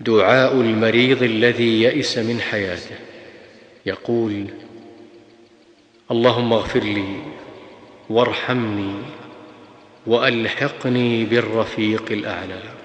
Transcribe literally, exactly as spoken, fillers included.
دعاء المريض الذي يئس من حياته، يقول: اللهم اغفر لي وارحمني والحقني بالرفيق الأعلى.